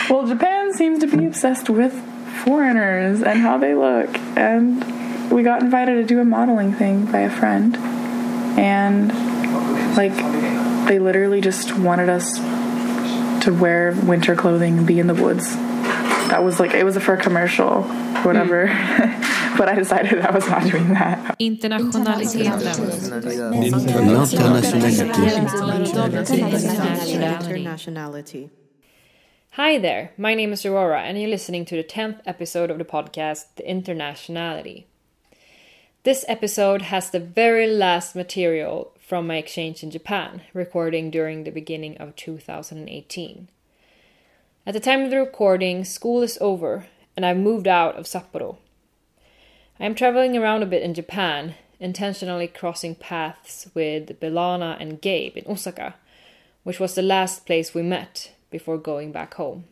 Well, Japan seems to be obsessed with foreigners and how they look, and we got invited to do a modeling thing by a friend, and like they literally just wanted us to wear winter clothing and be in the woods. That was like, it was for a commercial, whatever. But I decided I was not doing that. Internationality. Hi there, my name is Aurora, and you're listening to the 10th episode of the podcast, The Internationality. This episode has the very last material from my exchange in Japan, recording during the beginning of 2018. At the time of the recording, school is over, and I've moved out of Sapporo. I am traveling around a bit in Japan, intentionally crossing paths with Belana and Gabe in Osaka, which was the last place we met before going back home.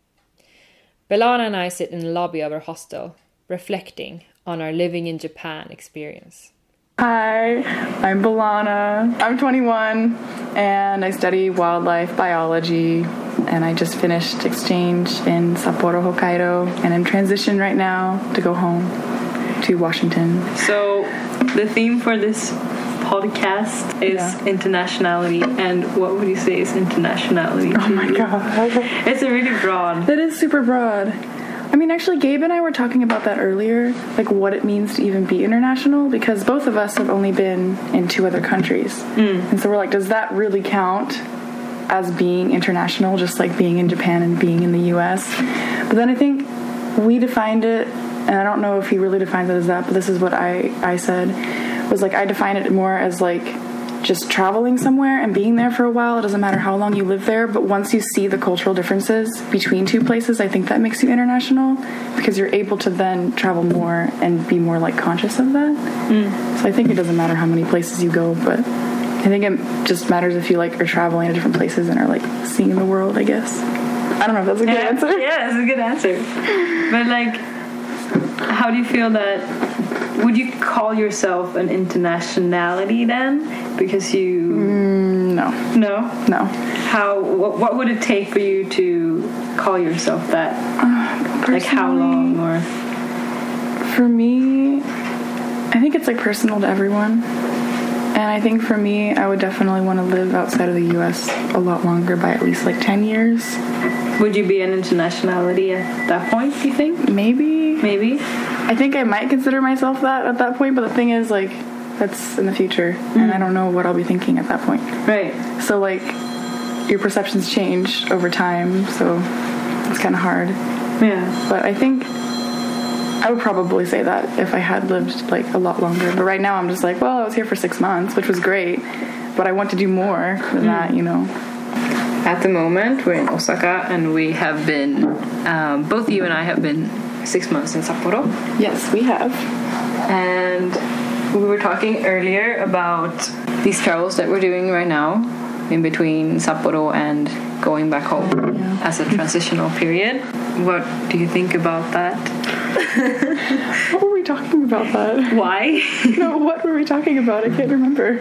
Belana and I sit in the lobby of our hostel, reflecting on our living in Japan experience. Hi, I'm Belana. I'm 21, and I study wildlife biology, and I just finished exchange in Sapporo, Hokkaido, and I'm transitioned right now to go home to Washington. So the theme for this podcast is internationality, and what would you say is internationality? Oh my god. It's a really broad. It is super broad. I mean, actually, Gabe and I were talking about that earlier, like what it means to even be international, because both of us have only been in 2 other countries. And so we're like, does that really count as being international, just like being in Japan and being in the US? But then I think we defined it, and I don't know if he really defines it as that, but this is what I said, was like, I define it more as like just traveling somewhere and being there for a while. It doesn't matter how long you live there, but once you see the cultural differences between 2 places, I think that makes you international, because you're able to then travel more and be more like conscious of that. So I think it doesn't matter how many places you go, but I think it just matters if you like are traveling to different places and are like seeing the world, I guess. I don't know if that's a good answer. Yeah, it's a good answer. But like, how do you feel that, would you call yourself an internationality then? Because you... No. No? No. How, what would it take for you to call yourself that? Like how long, or... For me, I think it's like personal to everyone. And I think for me, I would definitely want to live outside of the U.S. a lot longer, by at least like 10 years. Would you be an internationality at that point, do you think? Maybe. I think I might consider myself that at that point, but the thing is, like, that's in the future, and I don't know what I'll be thinking at that point. Right. So, like, your perceptions change over time, so it's kind of hard. Yeah. But I think I would probably say that if I had lived, like, a lot longer. But right now I'm just like, well, I was here for 6 months, which was great, but I want to do more than that, you know. At the moment, we're in Osaka, and we have been, both you and I have been 6 months in Sapporo. Yes, we have. And we were talking earlier about these travels that we're doing right now, in between Sapporo and going back home as a transitional period. What do you think about that? What were we talking about that? Why? No, what were we talking about? I can't remember.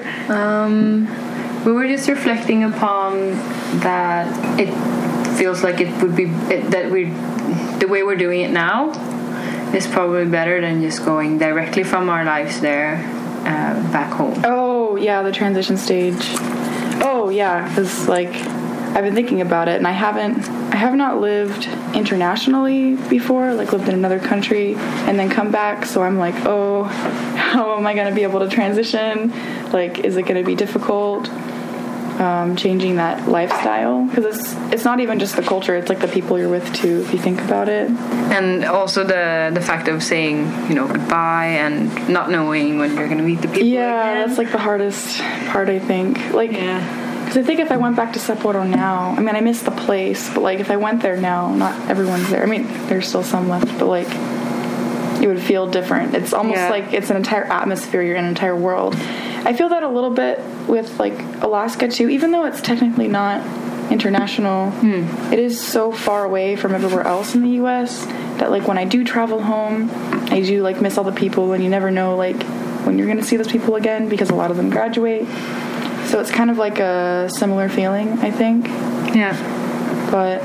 We were just reflecting upon that it feels like it would be the way we're doing it now is probably better than just going directly from our lives there back home. Oh yeah, the transition stage. Oh yeah, because like I've been thinking about it, and I have not lived internationally before, like lived in another country and then come back. So I'm like, oh, how am I going to be able to transition? Like, is it going to be difficult? Changing that lifestyle, because it's not even just the culture, it's like the people you're with too, if you think about it. And also the fact of saying, you know, goodbye and not knowing when you're going to meet the people again. That's like the hardest part, I think. Like, because I think if I went back to Sapporo now, I mean, I miss the place, but like if I went there now, not everyone's there. I mean, there's still some left, but like it would feel different. It's almost like it's an entire atmosphere, you're in an entire world. I feel that a little bit with like Alaska too, even though it's technically not international. It is so far away from everywhere else in the US that like when I do travel home, I do like miss all the people, and you never know like when you're going to see those people again, because a lot of them graduate. So it's kind of like a similar feeling, I think. Yeah. But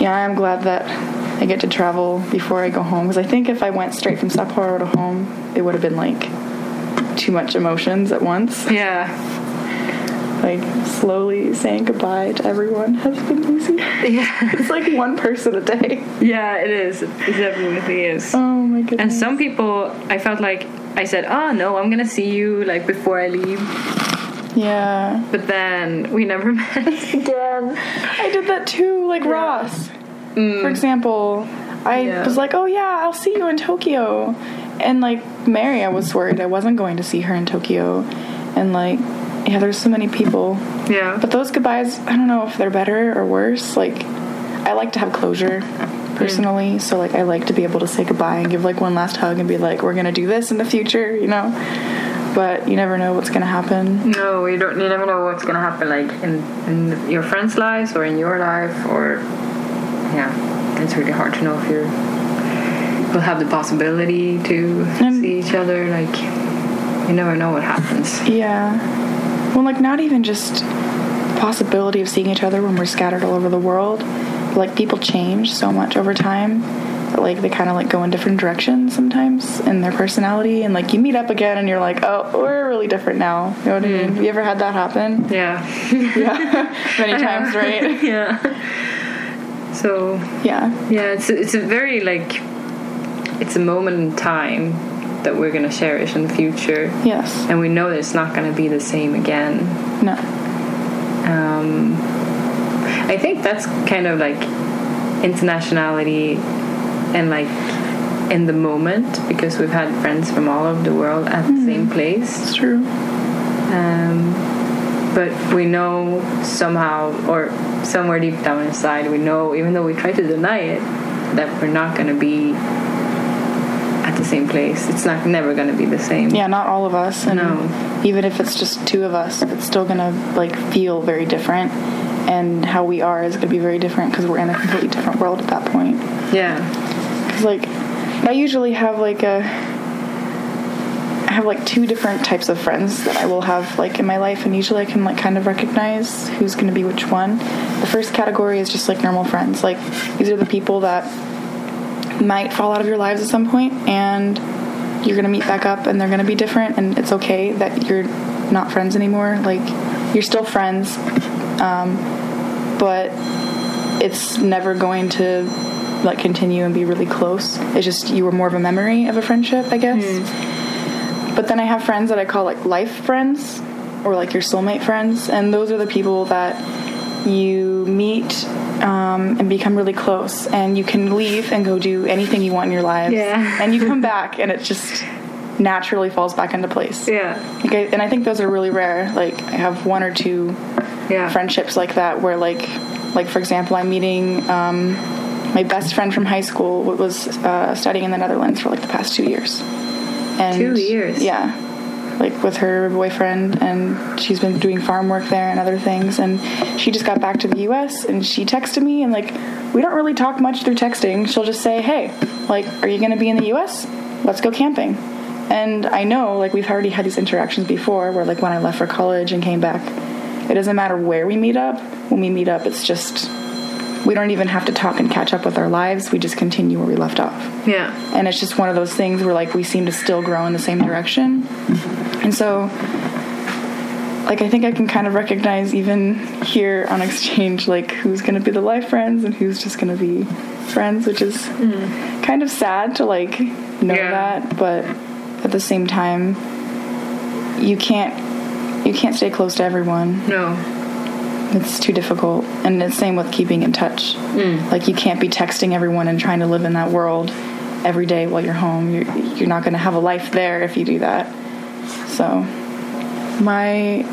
yeah, I'm glad that I get to travel before I go home, because I think if I went straight from Sapporo to home, it would have been like too much emotions at once. Yeah. Like slowly saying goodbye to everyone has been easy. Yeah. It's like one person a day. Yeah, it is. It definitely is. Oh my goodness. And some people, I felt like I said, oh no, I'm gonna see you like before I leave. Yeah. But then we never met again. I did that too, like Ross. For example, I was like, oh yeah, I'll see you in Tokyo. And like Mary, I was worried I wasn't going to see her in Tokyo. And like, yeah, there's so many people. Yeah. But those goodbyes, I don't know if they're better or worse. Like, I like to have closure personally. So like, I like to be able to say goodbye and give like one last hug and be like, we're going to do this in the future, you know? But you never know what's going to happen. No, you never know what's going to happen, like in your friends' lives or in your life, or yeah, it's really hard to know if we'll have the possibility to see each other. Like, you never know what happens. Yeah. Well, like, not even just the possibility of seeing each other when we're scattered all over the world. But, like, people change so much over time that, like, they kind of, like, go in different directions sometimes in their personality. And, like, you meet up again and you're like, oh, we're really different now. You know what I mean? Have you ever had that happen? Yeah. Yeah. Many times, right? Yeah. So. Yeah. Yeah, it's a very, like, it's a moment in time that we're going to cherish in the future. Yes. And we know that it's not going to be the same again. No. I think that's kind of like internationality and like in the moment, because we've had friends from all over the world at the same place. It's true. But we know somehow, or somewhere deep down inside, we know, even though we try to deny it, that we're not going to be at the same place. It's never going to be the same. Yeah, not all of us. And no. Even if it's just two of us, it's still going to like feel very different, and how we are is going to be very different because we're in a completely different world at that point. Yeah. Because like I usually have like two different types of friends that I will have like in my life, and usually I can like kind of recognize who's going to be which one. The first category is just like normal friends. Like, these are the people that might fall out of your lives at some point, and you're going to meet back up and they're going to be different, and it's okay that you're not friends anymore. Like, you're still friends, but it's never going to like continue and be really close. It's just you were more of a memory of a friendship, I guess. But then I have friends that I call like life friends, or like your soulmate friends, and those are the people that you meet and become really close, and you can leave and go do anything you want in your lives. Yeah. And you come back and it just naturally falls back into place. Yeah. And I think those are really rare. Like, I have one or two friendships like that where like for example, I'm meeting my best friend from high school was studying in the Netherlands for like the past 2 years. And 2 years? Yeah. Like with her boyfriend, and she's been doing farm work there and other things, and she just got back to the US, and she texted me, and like, we don't really talk much through texting. She'll just say, hey, like, are you going to be in the US? Let's go camping. And I know, like, we've already had these interactions before where, like, when I left for college and came back, it doesn't matter where we meet up. When we meet up, it's just, we don't even have to talk and catch up with our lives. We just continue where we left off. Yeah. And it's just one of those things where, like, we seem to still grow in the same direction. And so, like, I think I can kind of recognize even here on exchange, like, who's going to be the life friends and who's just going to be friends, which is kind of sad to, like, know that. But at the same time, you can't stay close to everyone. No. It's too difficult. And it's the same with keeping in touch. Like, you can't be texting everyone and trying to live in that world every day while you're home. You're not going to have a life there if you do that. So my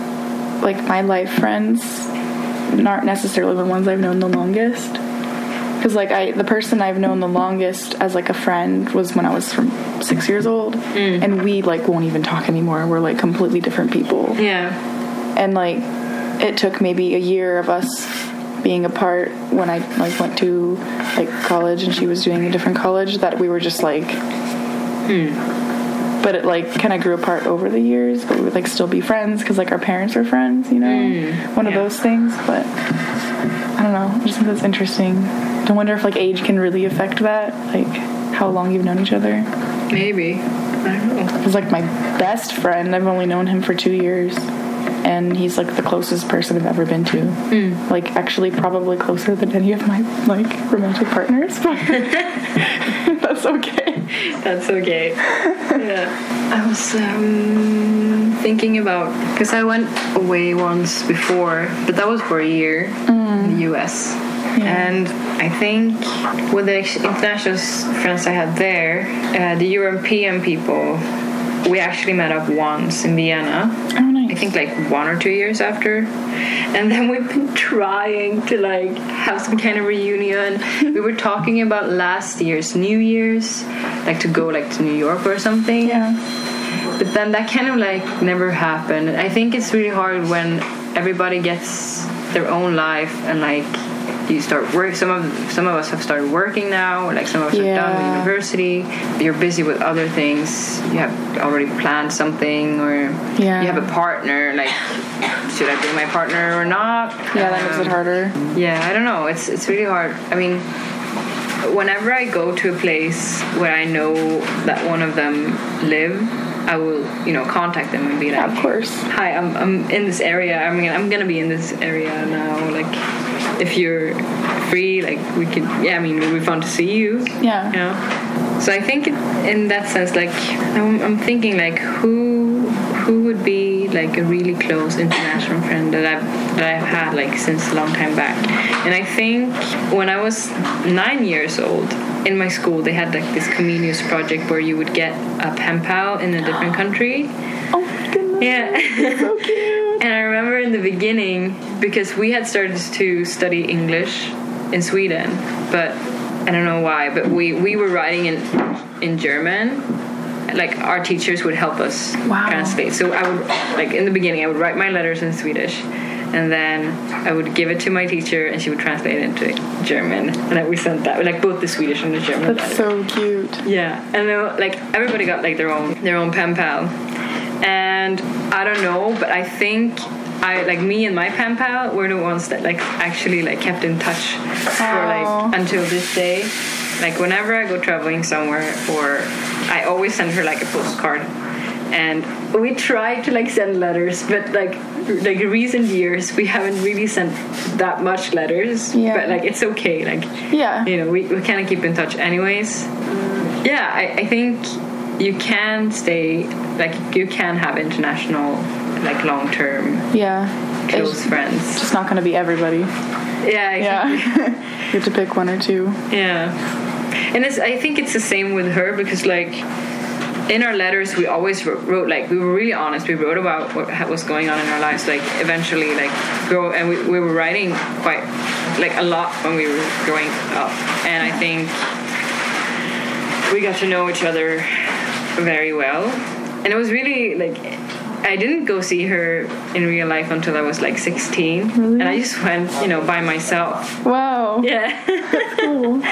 life friends aren't necessarily the ones I've known the longest. Because, like, the person I've known the longest as, like, a friend was when I was from 6 years old. And we, like, won't even talk anymore. We're, like, completely different people. Yeah. And, like, it took maybe a year of us being apart when I, like, went to, like, college and she was doing a different college that we were just, like... But it, like, kind of grew apart over the years. But we would, like, still be friends because, like, our parents were friends, you know? One of those things. But I don't know. I just think that's interesting. I wonder if like age can really affect that, like how long you've known each other. Maybe. I don't know. Because like my best friend, I've only known him for 2 years, and he's like the closest person I've ever been to. Like actually probably closer than any of my like romantic partners, but that's okay. That's okay. Yeah. I was thinking about, because I went away once before, but that was for a year in the US. Yeah. And I think with the international friends I had there, the European people, we actually met up once in Vienna. Oh, nice. I think like 1 or 2 years after. And then we've been trying to like have some kind of reunion. We were talking about last year's New Year's, like to go like to New York or something. Yeah. But then that kind of like never happened. I think it's really hard when everybody gets their own life and like you start work. Some of us have started working now. Like some of us are done with university. You're busy with other things. You have already planned something, or you have a partner. Like, should I bring my partner or not? Yeah, that makes it harder. Yeah, I don't know. It's really hard. I mean, whenever I go to a place where I know that one of them live, I will, contact them and be like, Yeah, of course. Hi, I'm in this area. I mean, I'm gonna be in this area now. Like, if you're free, like we could. Yeah, I mean, it would be fun to see you. Yeah. So I think in that sense, like, I'm thinking like who would be like a really close international friend that I've had like since a long time back. And I think when I was 9 years old, in my school they had like this Comenius project where you would get a pen pal in a different country. Oh my goodness. Yeah. So cute. And I remember in the beginning, because we had started to study English in Sweden, but I don't know why, but we were writing in German. Like, our teachers would help us translate. So I would, like, in the beginning, I would write my letters in Swedish, and then I would give it to my teacher, and she would translate it into German, and then we sent that, like, both the Swedish and the German. That's so cute. Yeah, and then, like, everybody got like their own pen pal, and I don't know, but I think me and my pen pal were the ones that like actually like kept in touch for like until this day. Like, whenever I go traveling somewhere, or I always send her like a postcard, and we try to like send letters, but like recent years we haven't really sent that much letters. Yeah. But like it's okay. Like, yeah, we kind of keep in touch anyways. Yeah, I think you can stay, like, you can have international, like, long-term close friends. It's just not going to be everybody. Yeah, exactly. Yeah. You have to pick one or two. Yeah. And I think it's the same with her, because like in our letters we always wrote like, we were really honest. We wrote about what was going on in our lives. Like, eventually, like, and we were writing quite like a lot when we were growing up. And I think we got to know each other very well. And it was really like, I didn't go see her in real life until I was like 16. Really? And I just went, by myself. Wow. Yeah. Cool.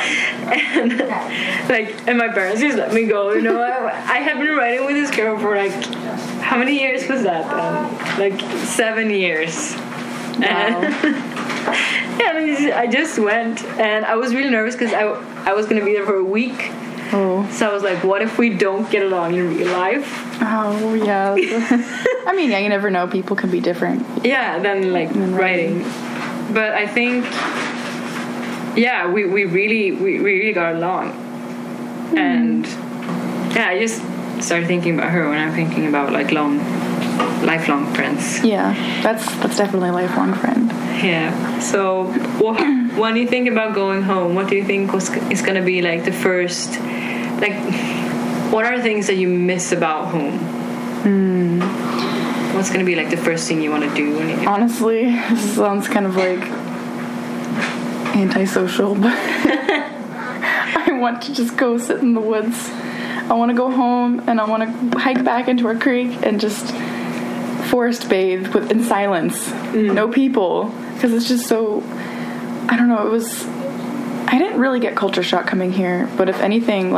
and my parents just let me go. I had been writing with this girl for like, how many years was that then? Like 7 years. Wow. And I just went, and I was really nervous because I was going to be there for a week. Oh. So I was like, what if we don't get along in real life? Oh, yeah. I mean, yeah, you never know. People can be different. Yeah, than like writing. But I think, yeah, we really got along. And yeah, I just started thinking about her when I'm thinking about like lifelong friends. Yeah, that's definitely a lifelong friend. Yeah. So when you think about going home, what do you think is going to be like the first, like, what are things that you miss about home? What's going to be like the first thing you want to do when you get Honestly, this sounds kind of like antisocial, but I want to just go sit in the woods. I want to go home, and I want to hike back into our creek and just forest bathe in silence. No people, because it's just so, I don't know, I didn't really get culture shock coming here, but if anything, like,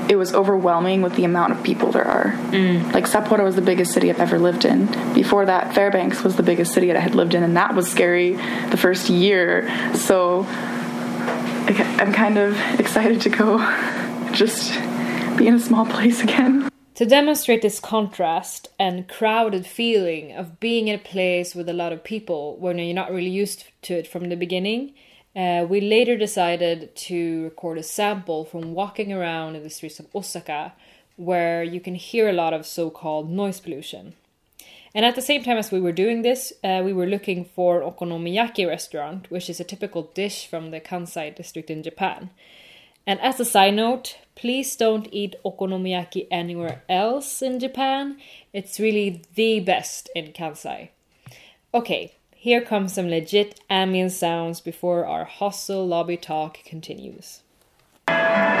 it was overwhelming with the amount of people there are. Like, Sapporo was the biggest city I've ever lived in. Before that, Fairbanks was the biggest city that I had lived in, and that was scary the first year. So I'm kind of excited to go just be in a small place again. To demonstrate this contrast and crowded feeling of being in a place with a lot of people when you're not really used to it from the beginning, we later decided to record a sample from walking around in the streets of Osaka, where you can hear a lot of so-called noise pollution. And at the same time as we were doing this, we were looking for an okonomiyaki restaurant, which is a typical dish from the Kansai district in Japan. And as a side note, please don't eat okonomiyaki anywhere else in Japan. It's really the best in Kansai. Okay, here comes some legit ambient sounds before our hostel lobby talk continues. So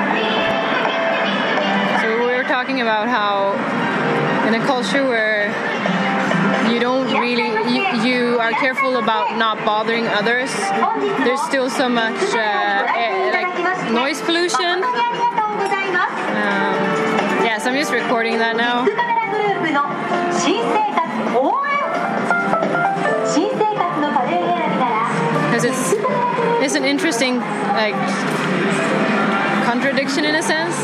we were talking about how in a culture where you don't really, you are careful about not bothering others, there's still so much like noise pollution. So I'm just recording that now. Because it's an interesting like contradiction in a sense.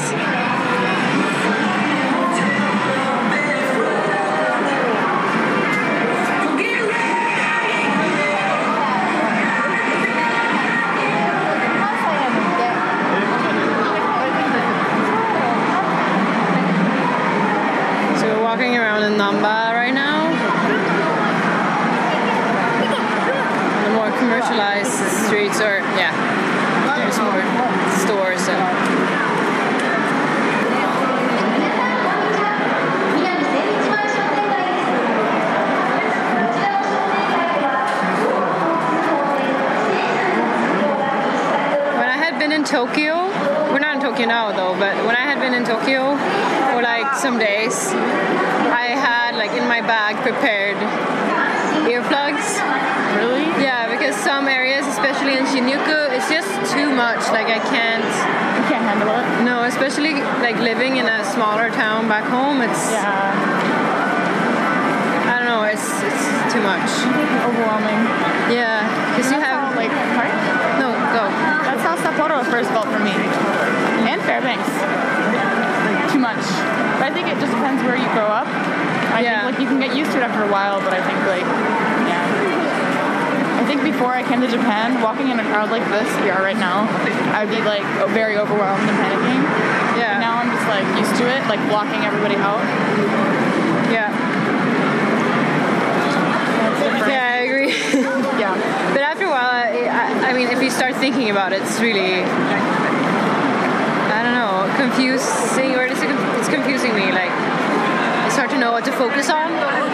Walking around in Namba right now. The more commercialized streets are, there's more stores. When I had been in Tokyo, we're not in Tokyo now though, but when I had been in Tokyo for like some days, I had like in my bag prepared earplugs. Really? Yeah, because some areas, especially in Shinjuku, it's just too much. Like I can't. You can't handle it? No, especially like living in a smaller town back home. It's. Yeah. I don't know. It's too much. Overwhelming. Yeah, because you have like. Sorry? No, go. That's how Sapporo first felt for me, and Fairbanks. Too much. But I think it just depends where you grow up. I think like you can get used to it after a while, but I think like I think before I came to Japan, walking in a crowd like this we are right now, I would be like very overwhelmed and panicking. Yeah. But now I'm just like used to it, like blocking everybody out. Yeah. Yeah, I agree. Yeah. But after a while, I mean, if you start thinking about it, it's really, I don't know, confusing, or it's confusing me. Like, it's hard to know what to focus on.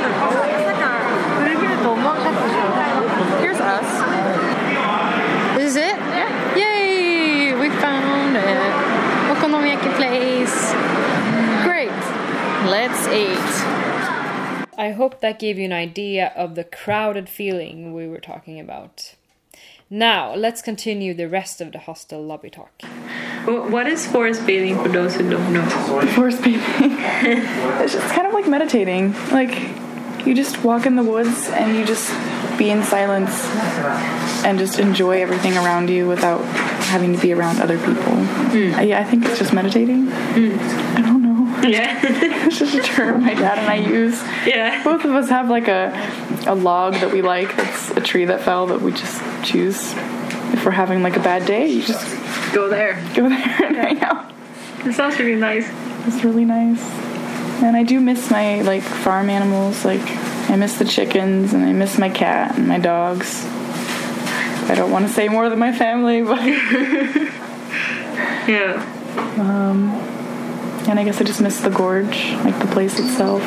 Here's us. This is it? Yeah. Yay! We found it. Okonomiyaki place. Great. Let's eat. I hope that gave you an idea of the crowded feeling we were talking about. Now, let's continue the rest of the hostel lobby talk. What is forest bathing for those who don't know? Forest bathing. It's just kind of like meditating. Like, you just walk in the woods and you just be in silence and just enjoy everything around you without having to be around other people. Yeah, I think it's just meditating. I don't know. Yeah. It's just a term my dad and I use. Yeah. Both of us have like a log that we like. That's a tree that fell that we just choose. If we're having like a bad day, you just Go there. and hang out. It sounds really nice. It's really nice. And I do miss my like farm animals. Like I miss the chickens and I miss my cat and my dogs. I don't want to say more than my family, but Yeah. And I guess I just miss the gorge, like the place itself.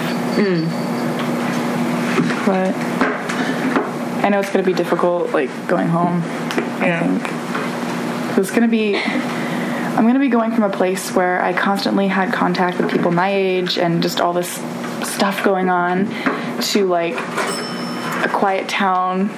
But I know it's gonna be difficult, like going home. I think it's gonna be. I'm gonna be going from a place where I constantly had contact with people my age and just all this stuff going on, to like a quiet town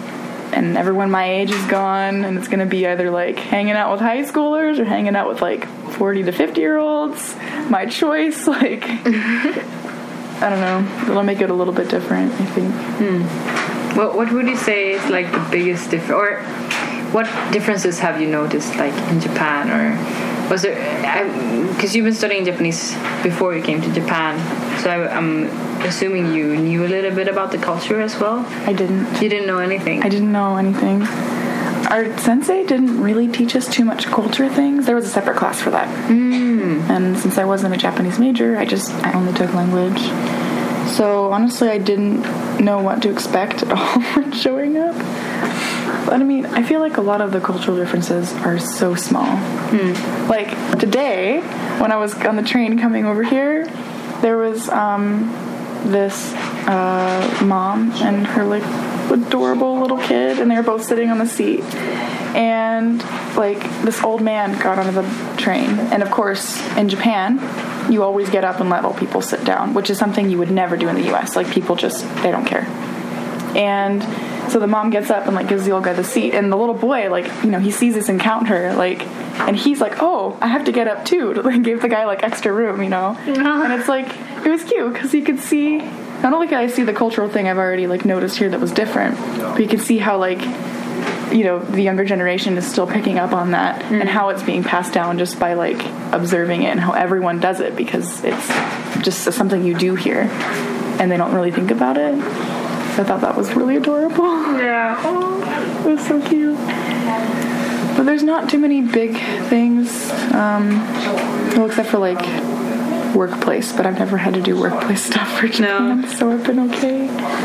and everyone my age is gone, and it's going to be either like hanging out with high schoolers or hanging out with like 40 to 50-year-olds. My choice, like, I don't know. It'll make it a little bit different, I think. What would you say is like the biggest difference, or what differences have you noticed, like in Japan, or was there? Because you've been studying Japanese before you came to Japan, so I'm assuming you knew a little bit about the culture as well. I didn't. You didn't know anything. I didn't know anything. Our sensei didn't really teach us too much culture things. There was a separate class for that. And since I wasn't a Japanese major, I only took language. So honestly, I didn't know what to expect at all when showing up. But I mean, I feel like a lot of the cultural differences are so small. Like today, when I was on the train coming over here, there was this mom and her like adorable little kid, and they were both sitting on the seat. And like this old man got onto the train, and of course in Japan you always get up and let old people sit down, which is something you would never do in the US. Like people just, they don't care. And so the mom gets up and like gives the old guy the seat, and the little boy, like, you know, he sees this encounter, like, and he's like, oh, I have to get up too, to like give the guy like extra room, you know. And it's like, it was cute because you could see, not only could I see the cultural thing I've already like noticed here that was different, but you could see how like, you know, the younger generation is still picking up on that, and how it's being passed down just by like observing it, and how everyone does it because it's just something you do here and they don't really think about it. I thought that was really adorable. Yeah. Oh, it was so cute. But there's not too many big things, well, except for like workplace, but I've never had to do workplace stuff for Japan, so I've been okay.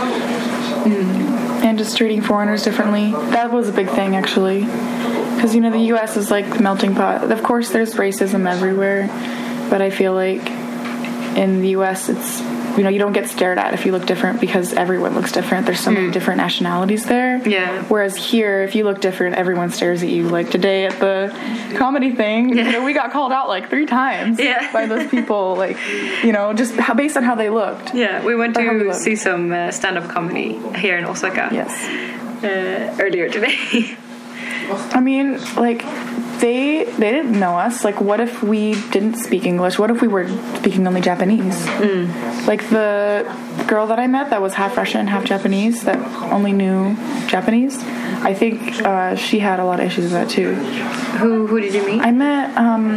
And just treating foreigners differently. That was a big thing, actually. Because, you know, the U.S. is like the melting pot. Of course, there's racism everywhere, but I feel like in the U.S. it's, you know, you don't get stared at if you look different because everyone looks different. There's so many different nationalities there. Yeah. Whereas here, if you look different, everyone stares at you. Like today at the comedy thing, you know, we got called out like 3 times by those people, like, you know, just based on how they looked. Yeah, we went to see some stand-up comedy here in Osaka. Yes. Earlier today. I mean, like, they didn't know us. Like, what if we didn't speak English? What if we were speaking only Japanese? Like, the girl that I met that was half Russian, half Japanese, that only knew Japanese, I think she had a lot of issues with that, too. Who did you meet? I met,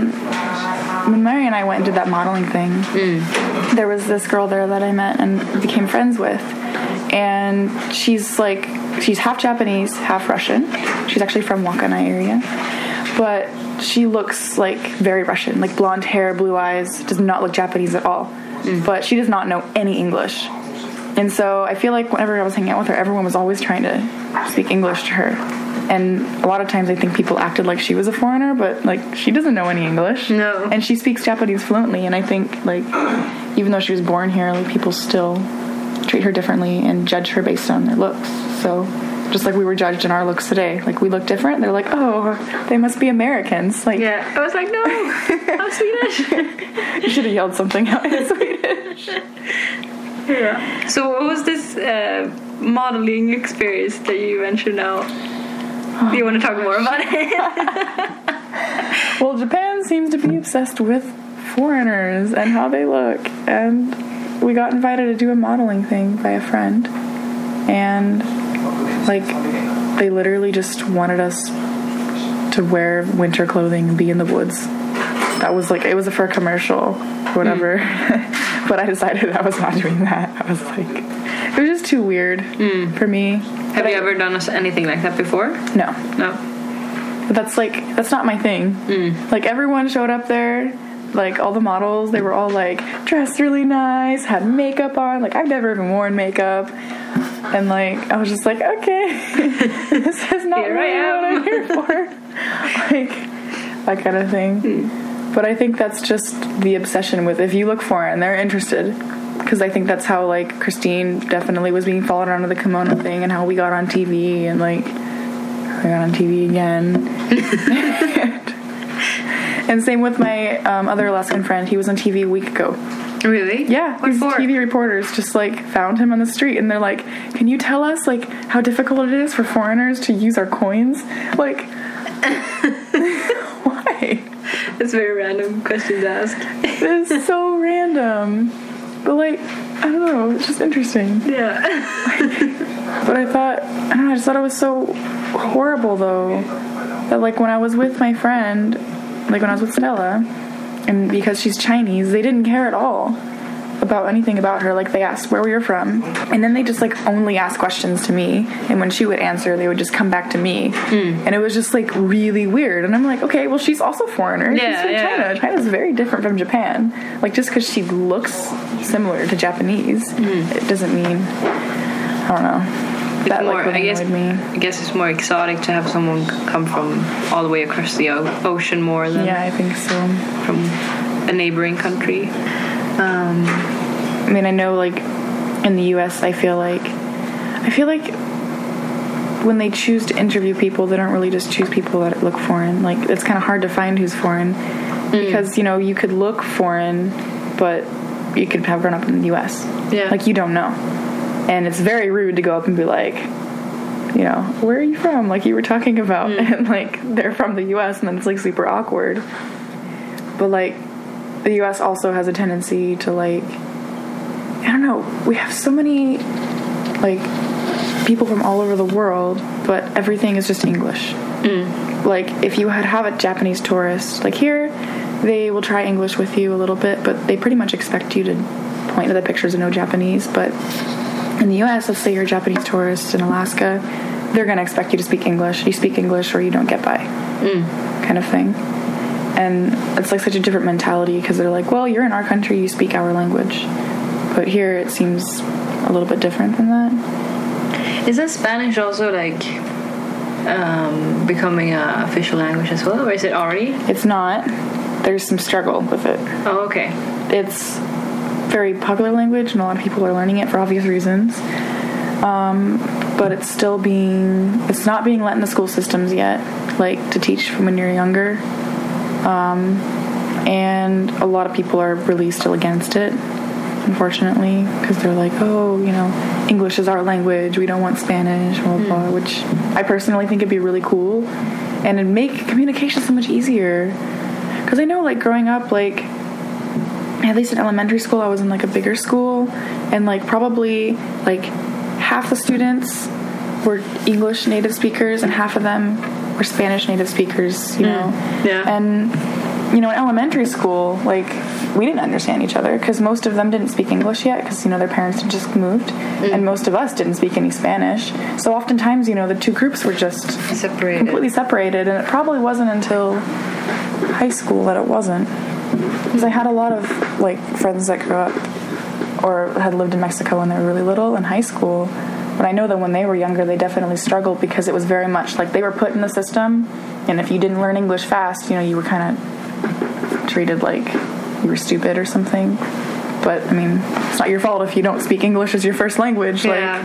when Mary and I went and did that modeling thing, there was this girl there that I met and became friends with. And she's half Japanese, half Russian. She's actually from Wakana area. But she looks like very Russian, like blonde hair, blue eyes, does not look Japanese at all. But she does not know any English. And so I feel like whenever I was hanging out with her, everyone was always trying to speak English to her. And a lot of times I think people acted like she was a foreigner, but like she doesn't know any English. No. And she speaks Japanese fluently, and I think like even though she was born here, like people still treat her differently and judge her based on their looks. So just like we were judged in our looks today, like we look different, they're like, oh, they must be Americans. Like, yeah, I was like, no, I'm Swedish. You should have yelled something out in Swedish. Yeah. So what was this modeling experience that you mentioned now? Do you want to talk more about it? Well, Japan seems to be obsessed with foreigners and how they look, and we got invited to do a modeling thing by a friend, and like they literally just wanted us to wear winter clothing and be in the woods. That was like, it was for a commercial or whatever. But I decided I was not doing that. I was like, it was just too weird for me. Have you ever done anything like that before? No. But that's not my thing. Like everyone showed up there, like all the models, they were all like dressed really nice, had makeup on. Like I've never even worn makeup. And like I was just like, okay, this is not really what I'm here for. Like that kind of thing. But I think that's just the obsession with, if you look foreign, they're interested. Because I think that's how like Christine definitely was being followed onto the kimono thing, and how we got on TV, and like I got on TV again. And same with my other Alaskan friend. He was on TV a week ago. Really? Yeah, What these for? TV reporters just like found him on the street, and they're like, "Can you tell us like how difficult it is for foreigners to use our coins?" Like, why? It's a very random question to ask. It's so random, but like, I don't know, it's just interesting. Yeah. But I don't know, I just thought it was so horrible though, that like when I was with my friend, like when I was with Stella, and because she's Chinese, they didn't care at all about anything about her. Like, they asked where we were from, and then they just like only asked questions to me, and when she would answer, they would just come back to me. And it was just like really weird, and I'm like, okay, well, she's also a foreigner. She's from China. China's very different from Japan. Like, just because she looks similar to Japanese, it doesn't mean, I don't know. That more, like really annoyed me. I guess it's more exotic to have someone come from all the way across the ocean more than Yeah, I think so. from a neighboring country. I mean, I know, like, in the U.S., I feel like when they choose to interview people, they don't really just choose people that look foreign. Like, it's kind of hard to find who's foreign because, you know, you could look foreign, but you could have grown up in the U.S. Yeah. Like, you don't know. And it's very rude to go up and be like, you know, where are you from? Like you were talking about. And, like, they're from the U.S., and then it's, like, super awkward. But, like, the U.S. also has a tendency to, like, I don't know, we have so many, like, people from all over the world, but everything is just English. Like, if you have a Japanese tourist, like here, they will try English with you a little bit, but they pretty much expect you to point to the pictures and know Japanese. But in the U.S., let's say you're a Japanese tourist in Alaska, they're going to expect you to speak English. You speak English or you don't get by, kind of thing. And it's like such a different mentality because they're like, well, you're in our country, you speak our language. But here it seems a little bit different than that. Isn't Spanish also like becoming an official language as well, or is it already? It's not. There's some struggle with it. Oh, okay. It's very popular language, and a lot of people are learning it for obvious reasons. But it's not being let in the school systems yet, like to teach from when you're younger. And a lot of people are really still against it, unfortunately, because they're like, oh, you know, English is our language, we don't want Spanish, blah, blah, blah, which I personally think it'd be really cool, and it'd make communication so much easier. Because I know, like, growing up, like, at least in elementary school, I was in, like, a bigger school, and, like, probably, like, half the students were English native speakers, and half of them were Spanish native speakers, you know? Yeah. And, you know, in elementary school, like, we didn't understand each other because most of them didn't speak English yet because, you know, their parents had just moved, and most of us didn't speak any Spanish. So oftentimes, you know, the two groups were just completely separated, and it probably wasn't until high school that it wasn't. Because I had a lot of, like, friends that grew up or had lived in Mexico when they were really little in high school. But I know that when they were younger, they definitely struggled because it was very much like they were put in the system, and if you didn't learn English fast, you know, you were kind of treated like you were stupid or something. But, I mean, it's not your fault if you don't speak English as your first language. Yeah.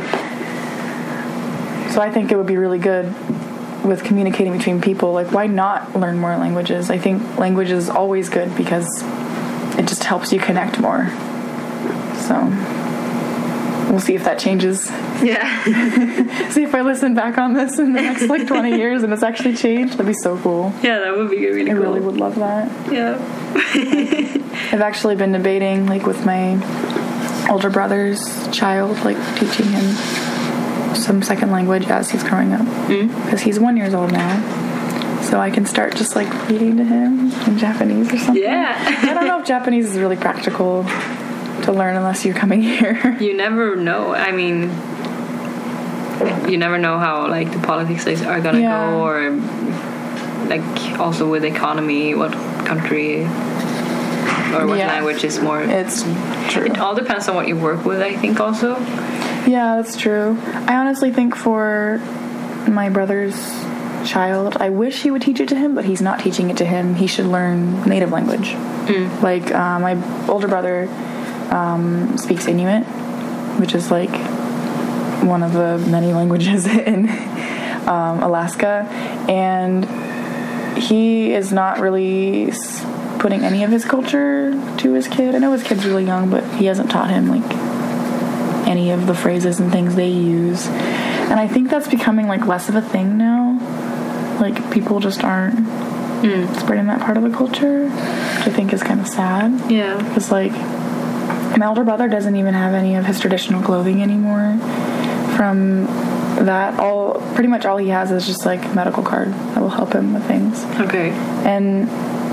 Like, so I think it would be really good with communicating between people. Like, why not learn more languages? I think language is always good because it just helps you connect more. So we'll see if that changes. Yeah. See if I listen back on this in the next, like, 20 years and it's actually changed. That'd be so cool. Yeah, that would be really cool. I really would love that. Yeah. I've actually been debating, like, with my older brother's child, like, teaching him some second language as he's growing up. Because he's 1 year old now. So I can start just, like, reading to him in Japanese or something. Yeah. I don't know if Japanese is really practical to learn unless you're coming here. You never know. I mean, you never know how, like, the politics are gonna go, or, like, also with the economy, what country or what language is more. It's true. It all depends on what you work with, I think, also. Yeah, that's true. I honestly think for my brother's child, I wish he would teach it to him, but he's not teaching it to him. He should learn native language. Like, my older brother speaks Inuit, which is, like, one of the many languages in Alaska, and he is not really putting any of his culture to his kid. I know his kid's really young, but he hasn't taught him like any of the phrases and things they use. And I think that's becoming like less of a thing now. Like people just aren't spreading that part of the culture, which I think is kind of sad. Yeah. Because like my older brother doesn't even have any of his traditional clothing anymore. From that, pretty much all he has is just like a medical card that will help him with things. Okay. And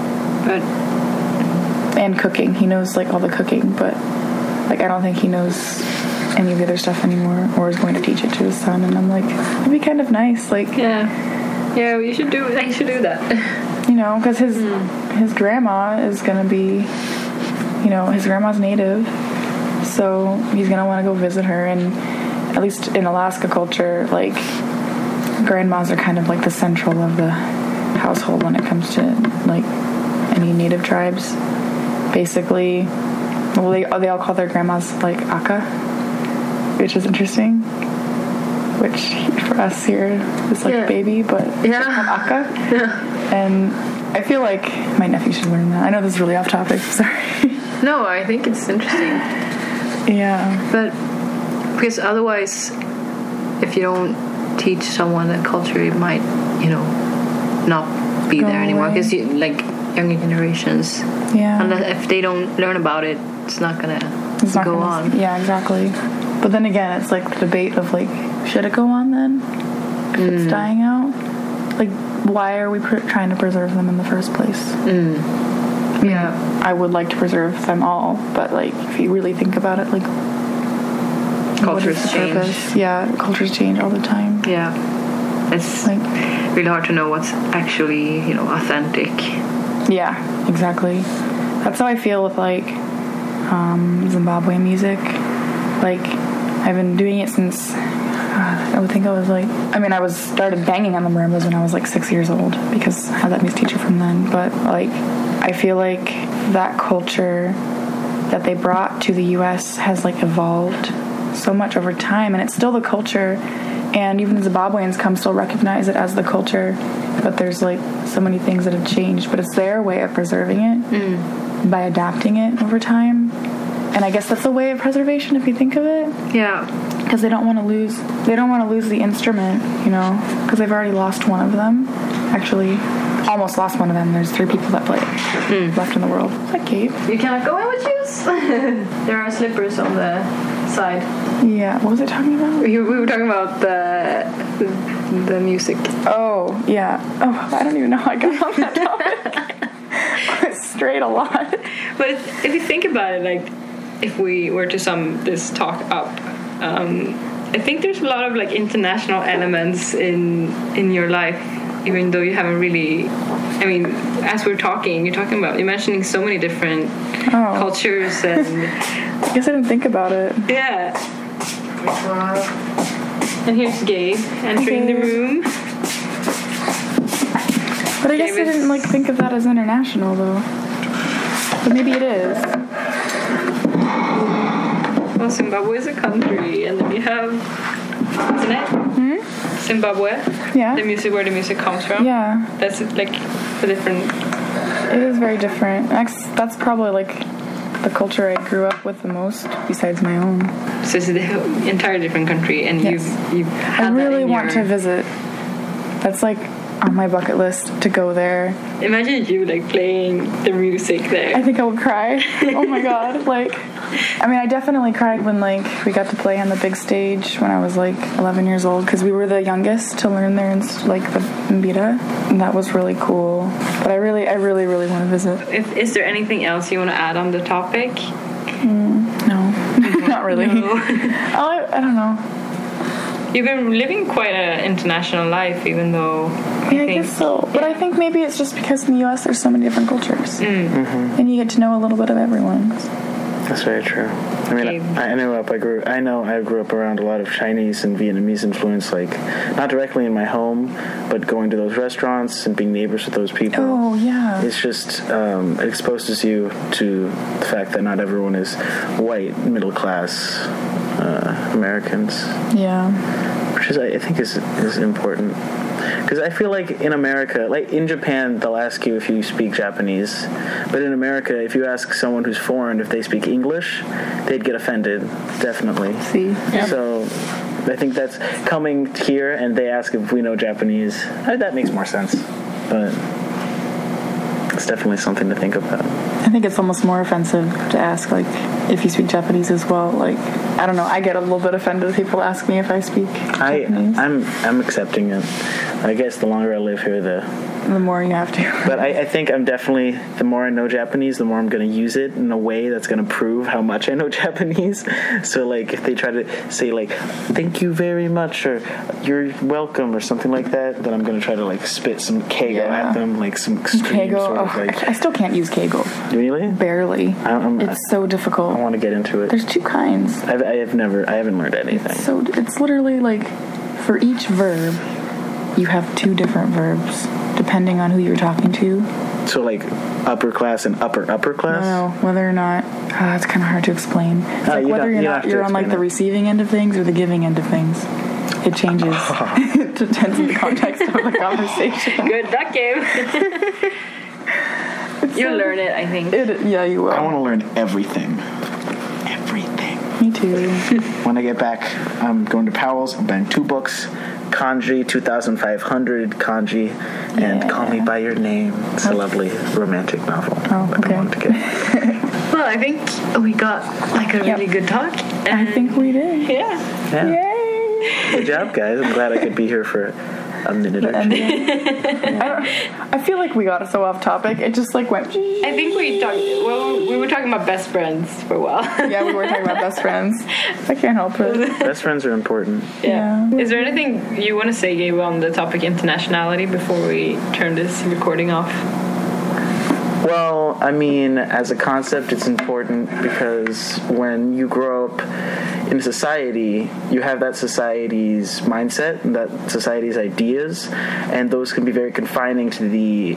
cooking. He knows like all the cooking, but like I don't think he knows any of the other stuff anymore, or is going to teach it to his son. And I'm like, it'd be kind of nice, like you should do that. You know, because his grandma is gonna be, you know, his grandma's native, so he's gonna want to go visit her. And at least in Alaska culture, like grandmas are kind of like the central of the household when it comes to like any native tribes. Basically, well, they all call their grandmas like Aka, which is interesting. Which for us here is like baby, but Aka. Yeah. And I feel like my nephew should learn that. I know this is really off topic. Sorry. No, I think it's interesting. Yeah. But because otherwise, if you don't teach someone that culture, it might, you know, not be there anymore. Because like younger generations, unless if they don't learn about it, it's not gonna go on. Yeah, exactly. But then again, it's like the debate of like, should it go on then? If it's dying out, like why are we trying to preserve them in the first place? Yeah, I would like to preserve them all, but like if you really think about it, like cultures change. Purpose? Yeah, cultures change all the time. Yeah, it's like really hard to know what's actually, you know, authentic. Yeah, exactly. That's how I feel with like Zimbabwe music. Like I've been doing it since I would think I was like, I started banging on the marimbas when I was like 6 years old because I had that music teacher from then. But like I feel like that culture that they brought to the US has like evolved so much over time, and it's still the culture, and even the Zimbabweans still recognize it as the culture, but there's like so many things that have changed, but it's their way of preserving it by adapting it over time. And I guess that's a way of preservation if you think of it. Yeah. Because they don't want to lose the instrument, you know, because they've already lost one of them. Actually, almost lost one of them. There's 3 people that play it left in the world. Is that Kate? You cannot go in with shoes. There are slippers on the side. Yeah. What was I talking about? We were talking about the music. Oh, yeah. Oh, I don't even know how I got on that topic. I strayed a lot. But if you think about it, like, if we were to sum this talk up, I think there's a lot of like international elements in your life, even though you haven't really. I mean, as you're mentioning so many different cultures, and I guess I didn't think about it. Yeah. And here's Gabe entering the room. But I guess I didn't like think of that as international though. But maybe it is. Well, Zimbabwe is a country, and then you have, isn't it? Zimbabwe. Yeah. The music, where the music comes from. Yeah. That's like a different. It is very different. That's probably like the culture I grew up with the most, besides my own. So it's an entire different country, and you've had I really want to visit. That's like on my bucket list to go there. Imagine you like playing the music there. I think I would cry. Oh my god. Like, I mean, I definitely cried when like we got to play on the big stage when I was like 11 years old, because we were the youngest to learn there in like the mbira, and that was really cool. But I really want to visit. Is there anything else you want to add on the topic? No. Not really. No. I don't know. You've been living quite an international life, even though I guess so. But I think maybe it's just because in the U.S. there's so many different cultures, and you get to know a little bit of everyone. That's very true. I mean, I grew up around a lot of Chinese and Vietnamese influence, like not directly in my home, but going to those restaurants and being neighbors with those people. Oh yeah. It's just it exposes you to the fact that not everyone is white, middle class Americans. Yeah. Which is, I think, is important. Because I feel like in America, like in Japan, they'll ask you if you speak Japanese. But in America, if you ask someone who's foreign if they speak English, they'd get offended, definitely. See? Yeah. So I think that's coming here and they ask if we know Japanese. That makes more sense. But it's definitely something to think about. I think it's almost more offensive to ask, like, if you speak Japanese as well. Like, I don't know, I get a little bit offended if people ask me if I speak Japanese. I'm accepting it. I guess the longer I live here, the more you have to. But I think I'm definitely, the more I know Japanese, the more I'm going to use it in a way that's going to prove how much I know Japanese. So, like, if they try to say, like, thank you very much, or you're welcome, or something like that, then I'm going to try to, like, spit some keigo at them, like some extreme Keigo, sort of, like... I still can't use keigo. Really? Barely. It's so difficult. I want to get into it. There's two kinds. I haven't learned anything. So it's literally, like, for each verb, you have two different verbs, depending on who you're talking to. So, like, upper class and upper class? No, whether or not... it's kind of hard to explain. It's like whether or not you're on, like, the receiving end of things or the giving end of things. It changes. It depends on the context of the conversation. Good, that game. You'll learn it, I think. Yeah, you will. I want to learn everything. Everything. Me too. When I get back, I'm going to Powell's. I'm buying 2 books. Kanji, 2,500 kanji, and Call Me By Your Name. It's a lovely romantic novel. Oh, okay. I want to get. Well, I think we got, like, a really good talk. I think we did. Yeah. Yay! Good job, guys. I'm glad I could be here for a minute or two. I feel like we got so off topic. It just, like, went... I think we were talking about best friends for a while. Yeah, we were talking about best friends. I can't help it. Best friends are important. Yeah. Is there anything you want to say, Gabe, on the topic internationality before we turn this recording off? Well, I mean, as a concept, it's important because when you grow up in a society, you have that society's mindset and that society's ideas, and those can be very confining to the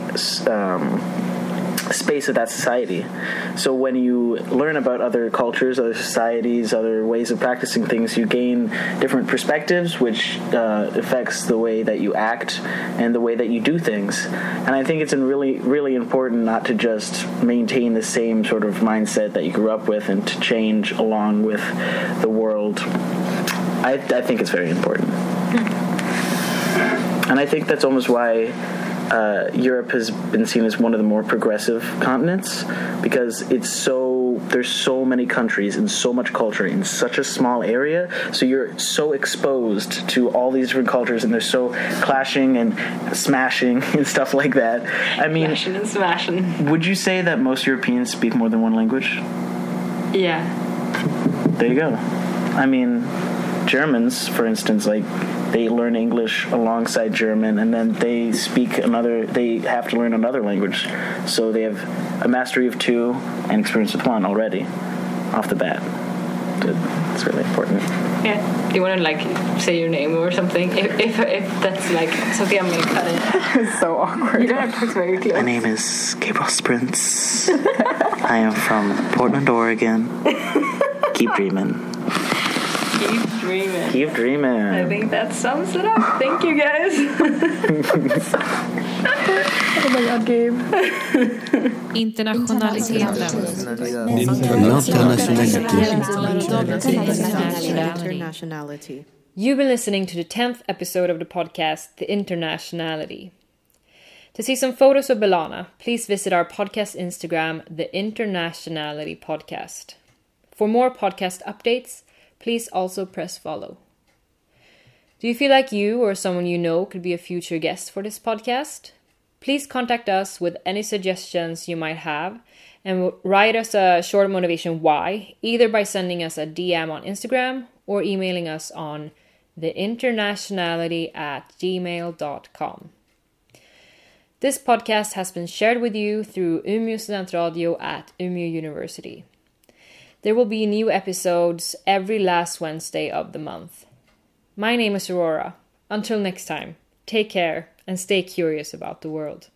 space of that society. So when you learn about other cultures, other societies, other ways of practicing things, you gain different perspectives, which affects the way that you act and the way that you do things. And I think it's really, really important not to just maintain the same sort of mindset that you grew up with and to change along with the world. I think it's very important. And I think that's almost why Europe has been seen as one of the more progressive continents, because there's so many countries and so much culture in such a small area, so you're so exposed to all these different cultures, and they're so clashing and smashing and stuff like that. I mean, Clashing and smashing. Would you say that most Europeans speak more than one language? Yeah. There you go. I mean, Germans, for instance, like, they learn English alongside German, and then they have to learn another language. So they have a mastery of 2 and experience with 1 already, off the bat. It's really important. Yeah. Do you want to, like, say your name or something? If that's, like, something I'm going to cut it. It's so awkward. You don't have to talk very close. My name is Gabriel Sprints. I am from Portland, Oregon. Keep dreaming. Keep dreaming. Keep dreaming. I think that sums it up. Thank you, guys. Oh my god, Gabe. Internationality. You've been listening to the 10th episode of the podcast, The Internationality. To see some photos of Belana, please visit our podcast Instagram, The Internationality Podcast. For more podcast updates, please also press follow. Do you feel like you or someone you know could be a future guest for this podcast? Please contact us with any suggestions you might have and write us a short motivation why, either by sending us a DM on Instagram or emailing us on theinternationality@gmail.com. This podcast has been shared with you through Umeå Studentradio at Umeå University. There will be new episodes every last Wednesday of the month. My name is Aurora. Until next time, take care and stay curious about the world.